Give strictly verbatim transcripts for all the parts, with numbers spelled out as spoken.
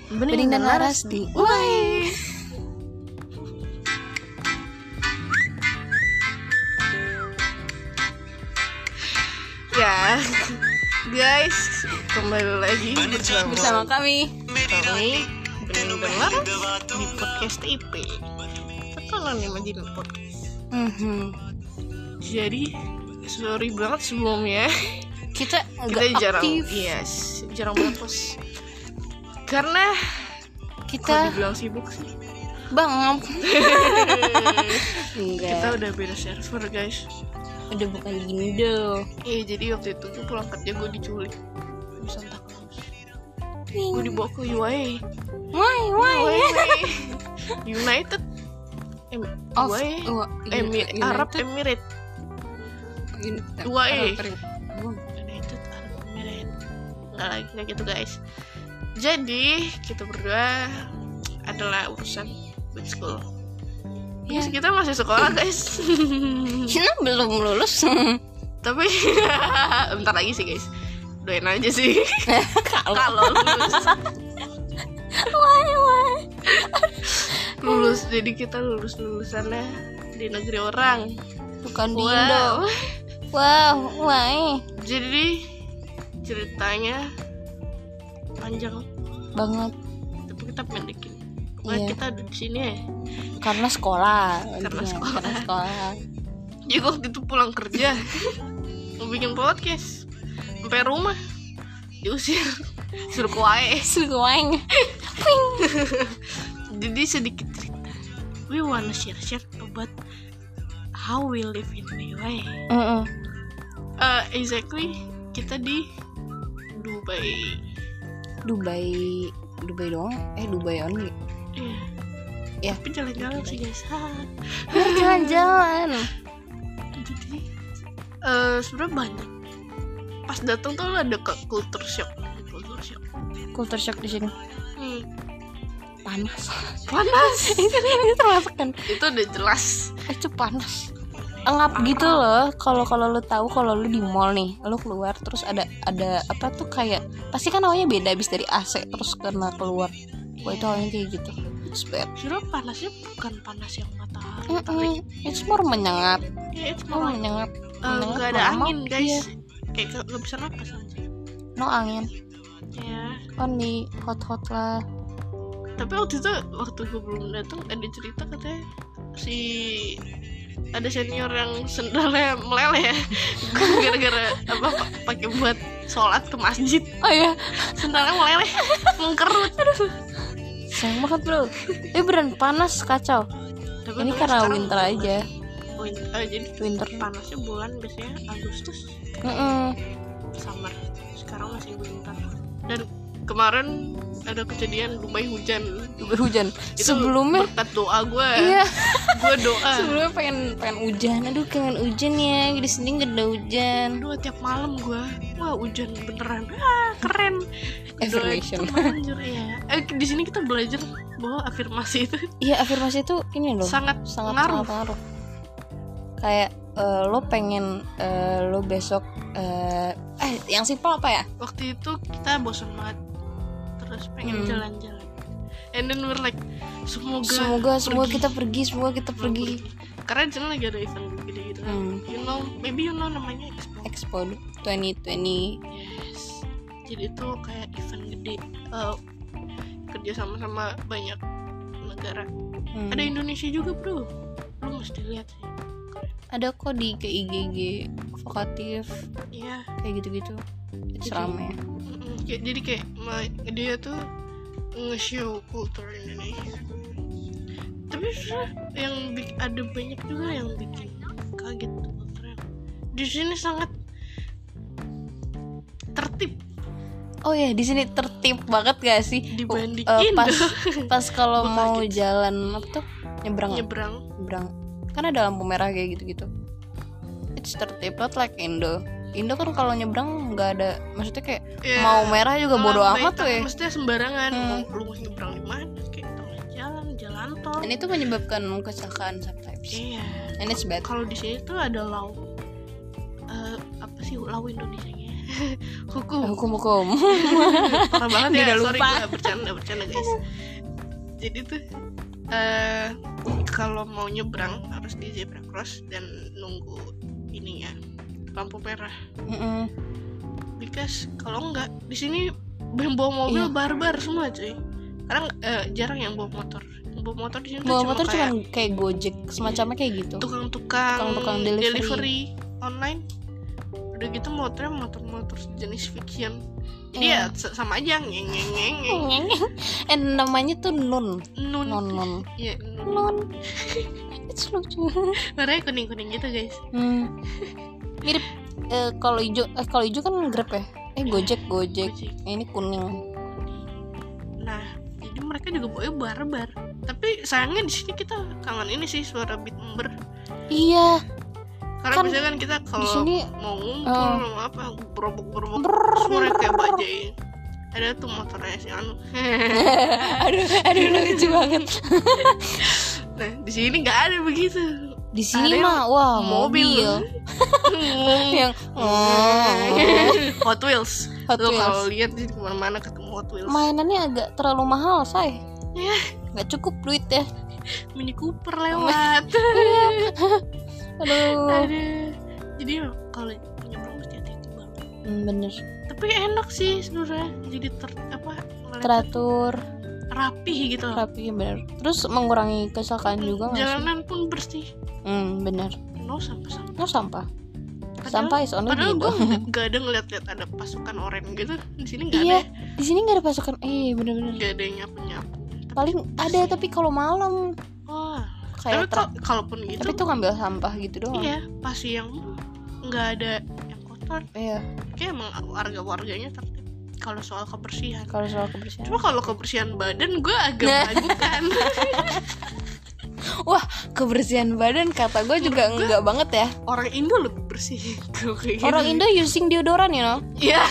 Bening dan Laras di Uai. Ya, guys, kembali lagi bersama, bersama kami. kami Bening dan Laras di podcast I P. Terkenal nih Majin Podcast. Mm-hmm. Jadi, sorry banget sebelumnya. Kita Kita agak jarang, aktif. yes, jarang banget post. Karena Kita kalau dibilang sibuk sih. bang. Kita Enggak. udah beda server, guys. Udah bukan Indo. Iya, jadi waktu itu tuh pulang kerja gue diculik di Santa Claus. Gue dibawa ke U A E. Why why? United em, Of U A E uh, Emir- Arab Emirates. U A E. United Arab Emirates. Nggak lagi nggak gitu, guys. Jadi kita berdua adalah urusan with school. Ya. Yes, kita masih sekolah, guys. Kita belum lulus. Tapi bentar lagi sih, guys. Doain aja sih. Kalau Kalau lulus. why why? Lulus, jadi kita lulus lulusannya di negeri orang. Bukan di Indo. Wow, why? Jadi ceritanya panjang Banget. tapi kita pendekin. Pokoknya Iya. kita ada di sini ya. Karena sekolah. Karena intinya. sekolah. Karena sekolah. Jadi waktu itu pulang kerja mau bikin podcast sampai rumah diusir suruh ke U A E. Suruh Jadi sedikit cerita. We wanna share share about how we live in U A E. Heeh. Uh, exactly kita di Dubai. Dubai Dubai doang? Eh Dubai only. Iya. Ya. Tapi jalan-jalan sih, guys. Ha. Jalan-jalan. Jadi uh, sebenarnya banyak. Pas datang tuh ada ke culture shock. Culture shock. Culture shock di sini. Hmm. Panas. Panas. itu itu termasuk kan? Itu udah jelas. Itu panas. Engap gitu loh. Kalau kalau lu tahu kalau lu di mall nih, lu keluar terus ada ada apa tuh kayak pasti kan awalnya beda habis dari A C terus kena keluar. Wah itu awalnya kayak gitu. It's bad. Sebenarnya panasnya bukan panas yang matahari. Mm-mm. Tapi It's more menyengat. ya itu Oh, malah menyengat. uh, Menyengat, nggak ada lama. angin, guys. Iya. Kayak nggak nggak bisa napas aja. No angin. Ya. Only hot-hot lah. Tapi waktu itu waktu gue belum datang ada cerita katanya si ada senior yang sendalnya meleleh ya gara-gara apa pa- pakai buat sholat ke masjid, Oh iya. sendalnya meleleh mengkerut. Sayang banget bro. Eh beneran panas kacau. Tapi Ini kalau karena sekarang winter udah- aja. Win- eh, jadi Winter. panasnya bulan biasanya Agustus Mm-mm. summer, sekarang masih winter. Dan kemarin ada kejadian Dubai hujan. Hujan. Itu Sebelumnya berkat doa gue. iya. Gue doa. Sebelumnya pengen pengen hujan. Aduh kangen hujan ya. Di sini gak ada hujan. Aduh tiap malam gue, wah hujan beneran, ah keren. Affirmation. Doa itu manjur, ya. Eh di sini kita belajar bahwa afirmasi itu Iya afirmasi itu ini loh. sangat sangat ngaruh. sangat ngaruh. Kayak eh, lo pengen eh, lo besok eh, eh yang simpel apa ya? Waktu itu kita bosan banget, terus pengen Hmm. jalan-jalan. And then we're like, semoga Semoga semoga pergi. kita pergi, semoga kita Semoga pergi. Karena di sana lagi ada event gede gitu kan. Hmm. You know, maybe you know namanya Expo. Expo dua ribu dua puluh. Yes. Jadi itu kayak event gede, eh, kerja sama-sama banyak negara. Hmm. Ada Indonesia juga bro, lu mesti lihat sih. Ada kok di ke I G G vokatif Iya. kayak gitu-gitu. It's Jadi- rame. Mm-mm. Kayak- jadi kayak ma- dia tuh nge-show kultur Indonesia. Tapi sebenarnya yang bik- ada banyak juga yang bikin kaget tuh kulturnya. Di sini sangat tertib Oh ya di sini tertib banget gak sih? dibanding Uh, Indo. pas pas kalau Gua mau kaget. jalan apa tuh nyebrang ya? Nyebrang. nyebrang kan ada lampu merah kayak gitu-gitu. It's tertib not like Indo. Indo kan kalau nyebrang nggak ada, maksudnya kayak Ya, mau merah juga bodo lambai amat tuh tangan ya. Maksudnya sembarangan. Hmm. Mau lu mau nyebrang di mana? Kayak tengah jalan, jalan tol. Dan itu menyebabkan kecelakaan sometimes. Iya. And it's bad. Kalau di sini tuh ada law, eh, apa sih law Indonesianya? hukum hukum hukum parah banget ya. Udah Sorry lupa. gue bercanda bercanda guys. Jadi tuh uh, kalau mau nyebrang harus di zebra cross dan nunggu ininya lampu merah. Mm-mm. Because kalau enggak di sini yang bawa mobil Iya. barbar semua cuy. Karena uh, jarang yang bawa motor. Yang bawa motor di sini tuh bawa cuma motor kayak cuman kayak Gojek semacamnya kayak gitu. tukang-tukang, Tukang-tukang delivery. delivery online. Udah gitu motornya motor-motor jenis fiction. Jadi Iya. ya s- sama aja ngeng ngeng ngeng ngeng. eh namanya tuh nun Nun. non non Iya, nun. non itu lucu. Warnanya kuning-kuning gitu, guys. hmm. Mirip eh, kalau hijau eh kalau hijau kan Grab ya, eh Gojek Gojek, Gojek. Eh, ini kuning. Nah, jadi mereka juga bawanya barbar. Tapi sayangnya di sini kita kangen ini sih suara beat ember. Iya Karena Kan biasanya kan kita kalau sini, mau ngumpul eh, mau apa berobok-berobok brrrr, suara kayak bajai. Ada tuh motornya si Anu. aduh aduh lucu banget. Nah, di sini nggak ada begitu. Di sini Ada mah wah mobil. mobil yang Hot Wheels. Hot Lo Wheels. kalau lihat di kemana-mana ketemu Hot Wheels. mainannya agak terlalu mahal say, Ya, nggak cukup duit ya. Mini Cooper lewat. Aduh Aduh. Jadi kalau nyebrang mesti hati-hati banget. hmm, bener Tapi enak sih sebenarnya. Jadi ter apa? ngeliatnya teratur rapi gitu. rapi bener, terus mengurangi kecelakaan juga nggak sih? Jalanan pun bersih. Hmm bener. No sampah-sampah. No sampah. Padahal- Sampah is only Padahal gitu. gue gak ada ngeliat-liat ada pasukan oranye gitu. Di sini gak Iya, ada. di sini nggak ada pasukan. Eh bener-bener. Gak ada yang nyapu-nyapu. Paling ada tapi kalau malam Wah. Tapi kayak kal- truk. kalaupun gitu, Tapi tuh ngambil sampah gitu doang. iya pasti yang nggak ada yang kotor. Iya. Kayak emang warga-warganya tertib. Kalau soal kebersihan. Kalau soal kebersihan. Cuma kalau kebersihan badan gue agak Nah. meragukan. Wah, kebersihan badan kata gue juga Menurut gua- enggak banget ya. Orang Indo lebih bersih. Kalau kayak Orang gini. Indo using deodoran you know. Iya.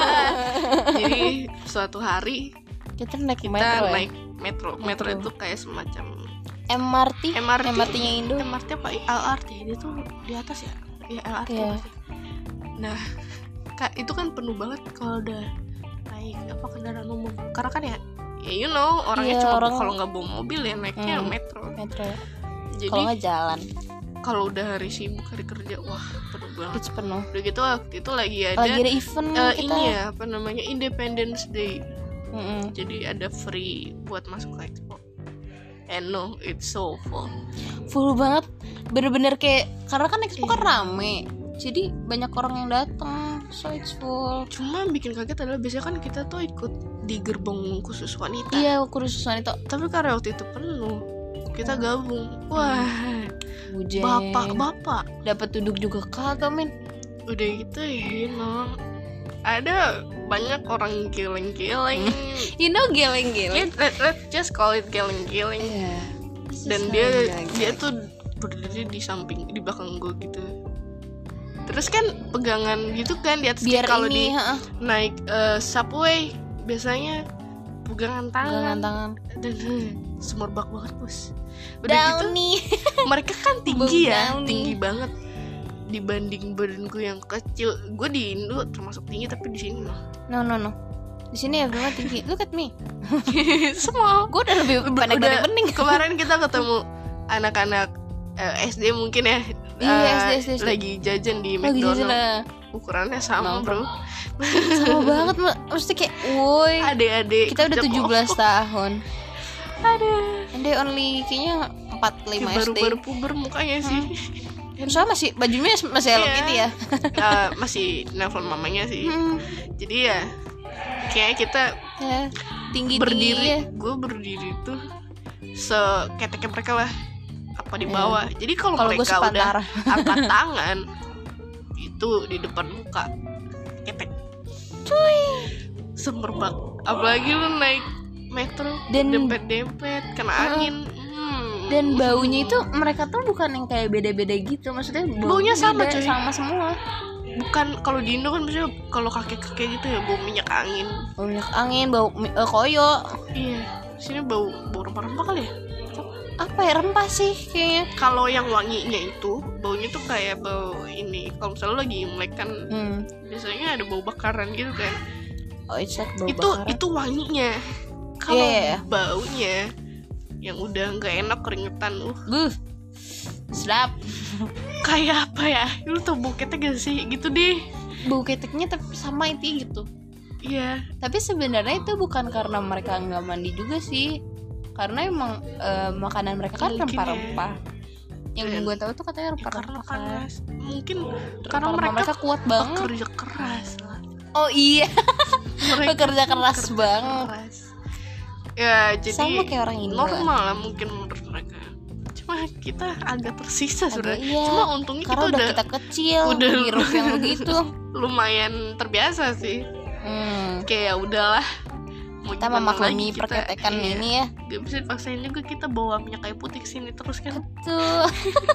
Jadi suatu hari Kita naik kita metro naik metro. Metro Metro. itu kayak semacam ya. M R T. M R T. M R T-nya Indo. M R T apa L R T? Dia tuh di atas ya. Iya L R T. Iya. pasti. Nah, Kak, itu kan penuh banget kalau udah naik apa kendaraan umum. Karena kan ya, ya you know orangnya Iya, cuma orang- kalau nggak bawa mobil ya naiknya Hmm. metro. Metro. ya. Jadi Kalau nggak jalan, kalau udah hari sibuk hari kerja, wah penuh banget. it's penuh. Udah gitu waktu itu lagi ada, Lagi ada event eh, kita. ini ya apa namanya Independence Day. Mm-mm. Jadi ada free buat masuk ke expo. And no, it's so full. Full banget. Bener-bener kayak karena kan expo kan rame. Jadi banyak orang yang datang. So it's full. Cuma yang bikin kaget adalah biasanya kan kita tuh ikut di gerbong khusus wanita. Iya, kursus wanita. Tapi karena waktu itu penuh, kita gabung. Wah, Bujen. bapak-bapak. Dapat duduk juga kagak men. Udah gitu ya, no. Ada banyak orang geleng-geleng. You know geleng-geleng. Let, let, let's just call it geleng-geleng. Iya. Dan dia dia tuh berdiri di samping di belakang gue gitu. Terus kan pegangan gitu kan di atas biar kalau ini di heeh, naik eh, subway biasanya pegangan tangan pegangan tangan. dan eh, semerbak banget bos. Udah gitu Downy. mereka kan tinggi Bang ya, Downy. tinggi banget dibanding badan gue yang kecil. Gue di Indo termasuk tinggi tapi di sini mah No no no. Di sini everyone tinggi. Look at me. semua. Gue udah lebih pendek dari Udah, bening. kemarin kita ketemu anak-anak eh, S D mungkin ya. Iya, eh, S D, S D, S D. lagi jajan di Lagi McDonald. jajan lah. Ukurannya sama Nongkrong. bro. Sama banget Mbak. Mesti kayak woi. Adik-adik Kita udah kerja tujuh belas kelompok. tahun. Aduh. And they only kayaknya empat puluh lima Kayak S D. baru-baru puber mukanya sih. Soalnya masih bajunya masih elok Iya. gitu ya. Eh, masih nelfon mamanya sih. Hmm, Jadi ya kayak kita ya. Tinggi berdiri, tinggi ya. gue berdiri tuh seketeknya mereka lah apa di bawah. Jadi kalau Kalau gue mereka udah sepantara. angkat tangan itu di depan muka ketek. Cuy. Semerbak. Apalagi lu naik metro Dan- dempet-dempet kena Heeh. angin. Hmm. Dan baunya itu mereka tuh bukan yang kayak beda-beda gitu. Maksudnya Baunya sama, beda, cuy. sama semua. bukan kalau di Indo kan biasanya kalau kakek-kakek gitu ya bau minyak angin. Bau minyak angin, bau mi- eh, koyo. Iya, sini bau bau rempah-rempah kali ya. apa ya, rempah sih kayaknya. Kalau yang wanginya itu baunya tuh kayak bau ini. Kalau misalnya lo lagi Imlek kan hmm. biasanya ada bau bakaran gitu kan. Oh, it's like bau itu bakaran. itu wanginya. Kalau Yeah. baunya yang udah nggak enak, keringetan, uh Buh, sedap. kayak apa ya? Lu tau bau ketek gak sih? Gitu deh. Bau keteknya tapi sama itu gitu. Iya. Tapi sebenarnya itu bukan karena mereka nggak mandi juga sih, karena emang eh, makanan mereka kan Mungkin rempah-rempah. Yang Dan- gue tahu tuh katanya Ya, karena rempah-rempah kan. panas. Mungkin karena Karena mereka, mereka kuat banget. bekerja keras lah. Oh iya, Mereka bekerja keras bekerja banget. keras. Ya jadi Sama kayak orang Indo. normal lah mungkin menurut mereka. Cuma kita agak tersisa Agak sebenarnya. iya. Cuma untungnya Karena kita udah udah kita kecil, udah- hirup yang begitu. lumayan terbiasa sih. Hmm. Kayak ya udahlah. Mau Kita gimana memaklumi lagi kita, perketekan iya. ini ya. Gak bisa dipaksain juga, kita bawa minyak kayu putih kesini terus kan. Tuh.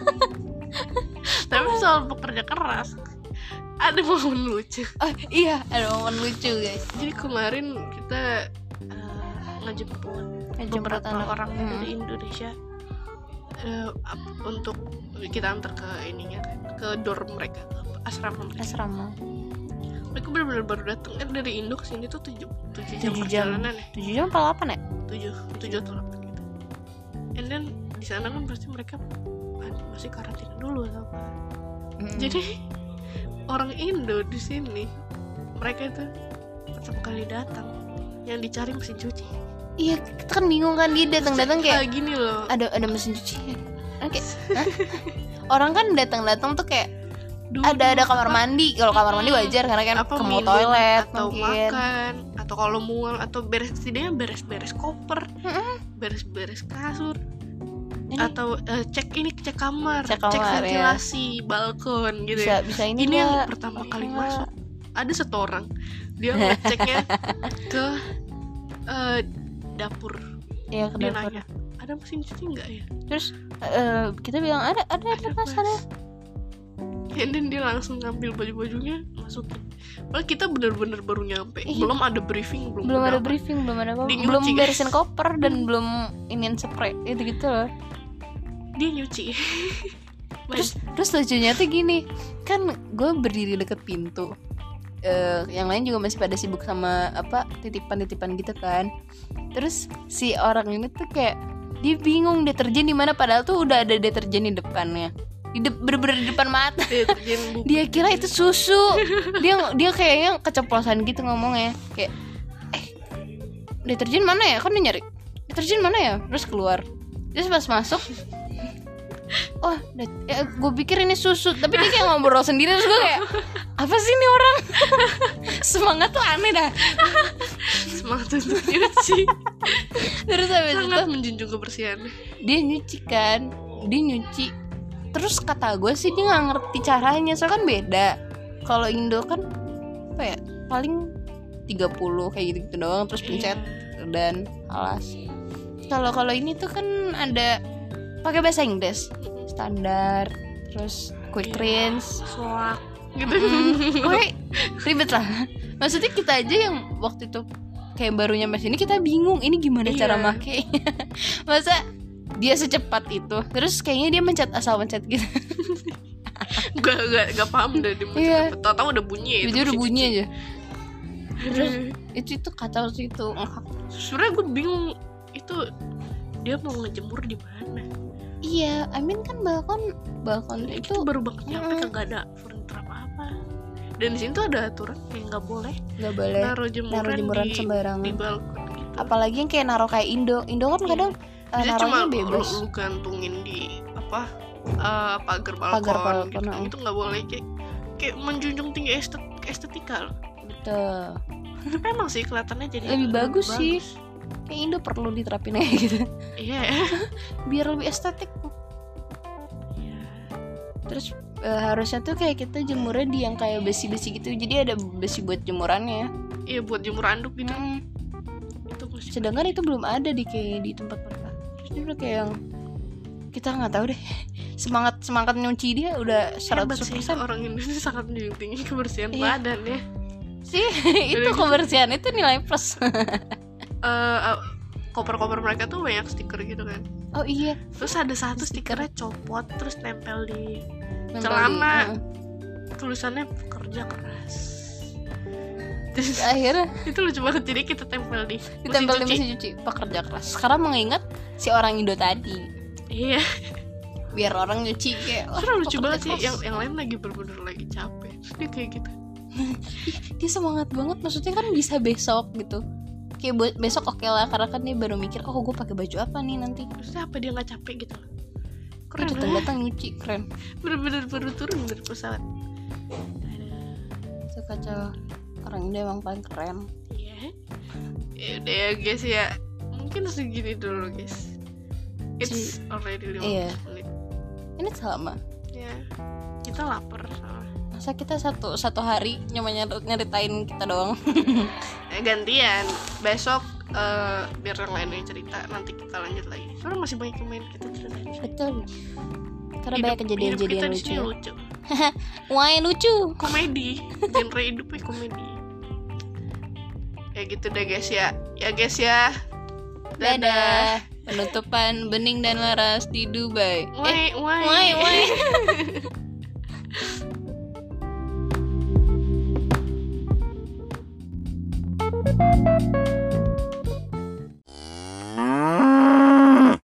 Tapi soal bekerja keras, ada momen lucu. Oh iya, ada momen lucu guys. Jadi kemarin kita uh, ngejemput Ngejemput beberapa anak. orang Hmm. dari Indonesia uh, ap- untuk kita antar ke ininya kan, ke dorm mereka, ke asrama mereka. Asrama. Mereka benar-benar baru datang kan dari Indo ke sini tuh tujuh tujuh jam Tujuh jam. perjalanan ya, Tujuh jam apa delapan ya? tujuh tujuh atau delapan gitu. And then di sana kan pasti mereka masih karantina dulu sama. Mm-mm. Jadi orang Indo di sini mereka itu pertama kali datang yang dicari mesin cuci. Iya, kita kan bingung kan, dia datang-datang kayak gini loh. ada ada mesin cuci. Oke. Hah? Orang kan datang-datang tuh kayak Dulu ada ada kamar apa- mandi. Kalau kamar mandi wajar karena kan apa ke mau minum toilet atau mungkin. makan atau kalau mual atau beres setidaknya beres-beres koper, Mm-mm. beres-beres kasur. Ini Atau eh, cek ini cek kamar, Cek kamar, ya. ventilasi, balkon gitu bisa ya. bisa ini Ini yang nggak? pertama Ini kali nggak? masuk. Ada satu orang dia ngeceknya ke eh, dapur. Iya, ke Dia dapur. nanya, ada mesin cuci nggak ya? Terus eh, kita bilang ada ada ada Ada, mas Mas. ada. And then dia langsung ngambil baju-bajunya masukin. Padahal kita bener-bener baru nyampe, Iya. belum ada briefing, belum, Belum ada apa. briefing, belum ada apa, Dia nyuci, belum guys. beresin koper dan belum iniin spray itu gitu loh. Dia nyuci. Terus terus lucunya tuh gini, kan gue berdiri deket pintu. Eh, yang lain juga masih pada sibuk sama apa titipan-titipan gitu kan. Terus si orang ini tuh kayak dia bingung deterjen di mana padahal tuh udah ada deterjen di depannya. Di de- bener-bener di depan mata. Deterjen bubuk. Dia kira itu susu. Dia dia kayaknya keceplosan gitu ngomongnya. Kayak eh deterjen mana ya? Kan dia nyari. Deterjen mana ya? Terus keluar. Terus pas masuk, oh, ya, gue pikir ini susu, tapi dia kayak ngobrol sendiri. Terus gue kayak, apa sih ini orang? Semangat tuh aneh dah. Semangat untuk nyuci. Terus habis itu Sangat menjunjung kebersihan. dia nyuci kan, dia nyuci. Terus kata gue sih dia nggak ngerti caranya, soalnya kan beda. Kalau Indo kan apa ya, paling tiga puluh kayak gitu-gitu doang, terus pencet dan alas. Kalau kalau ini tuh kan ada pakai bahasa Inggris standar, terus quick rinse. Soak gitu. Hmm, Oke, ribet lah. Maksudnya kita aja yang waktu itu kayak baru nyampe sini kita bingung ini gimana Iya. cara makainya. Masa dia secepat itu. Terus kayaknya dia mencet asal mencet gitu. Gak, gak, gak paham deh dia mau Iya. cakap. Tahu-tahu udah bunyi Dia udah mesin bunyi cuci. aja. Terus itu itu kacau sih itu. Sebenarnya gue bingung itu dia mau ngejemur di mana. Iya, I mean kan balkon balkon Itu itu baru banget nyampe, Mm-mm. kagak ada furniture apa-apa. Dan di sini tuh ada aturan yang nggak boleh nggak boleh naruh jemuran, naruh jemuran di, sembarangan. di balkon gitu. Apalagi yang kayak naruh kayak Indo. Indo kan Iya. kadang uh, Bisa cuma naruhnya lu, bebas. lu gantungin di apa eh, pagar balkon, Pagar balkon, gitu. heeh. Itu nggak boleh, kayak kayak menjunjung tinggi estet, estetika loh. Betul. Tapi emang sih kelihatannya jadi Lebih bagus sih. Kayak Indo perlu diterapin aja gitu. Iya. Biar lebih estetik. Iya. Terus eh, harusnya tuh kayak kita jemurnya di yang kayak besi-besi gitu. Jadi ada besi buat jemurannya. Iya, buat jemur anduk gitu. Mm. Itu masih Sedangkan itu belum ada di kayak di tempat mereka. Terus dia udah kayak yang kita nggak tahu deh. Semangat semangat nyuci dia udah hebat seratus sih, persen orang Indonesia sangat menjunjung tinggi kebersihan Iya. badan ya. sih. Itu kebersihan itu nilai plus. Eh, uh, koper-koper mereka tuh banyak stiker gitu kan. Oh iya. Terus ada satu stikernya copot terus nempel di Nempel celana. di- uh. Tulisannya pekerja keras. Terus Akhirnya itu lucu banget, jadi kita tempel di ditempel di mesin mesin cuci, pekerja keras. Sekarang mengingat si orang Indo tadi, Iya. biar orang nyuci kayak wah, Karena lucu pekerja banget sih, keras. yang yang lain lagi bener-bener lagi capek. Terus dia kayak gitu. Dia semangat banget, maksudnya kan bisa besok gitu. Kayak buat besok oke lah, karena kan dia baru mikir, oh gue pakai baju apa nih nanti. Terusnya apa dia nggak capek gitu? Keren, Keren datang lah. datang nyuci, keren. Bener-bener baru turun dari pesawat. Sekacau, orang Indo emang paling keren. Iya. Ya udah ya guys ya. Mungkin segini dulu guys. It's already lima belas Iya. menit. Ini sama. Ya. Kita lapar soalnya. Masa kita satu satu hari cuma nyari- nyeritain kita doang. Eh, gantian. Besok eh, biar yang lain yang cerita, nanti kita lanjut lagi. Soalnya masih banyak yang main kita ceritain. Betul. Karena Hidup- banyak kejadian-kejadian hidup kita di lucu. sini lucu. Wah, yang lucu. Komedi. Genre hidupnya komedi. Ya gitu deh guys ya. Ya guys ya. Dadah. Penutupan Bening dan Laras di Dubai. Wai, wai. Wai, wai.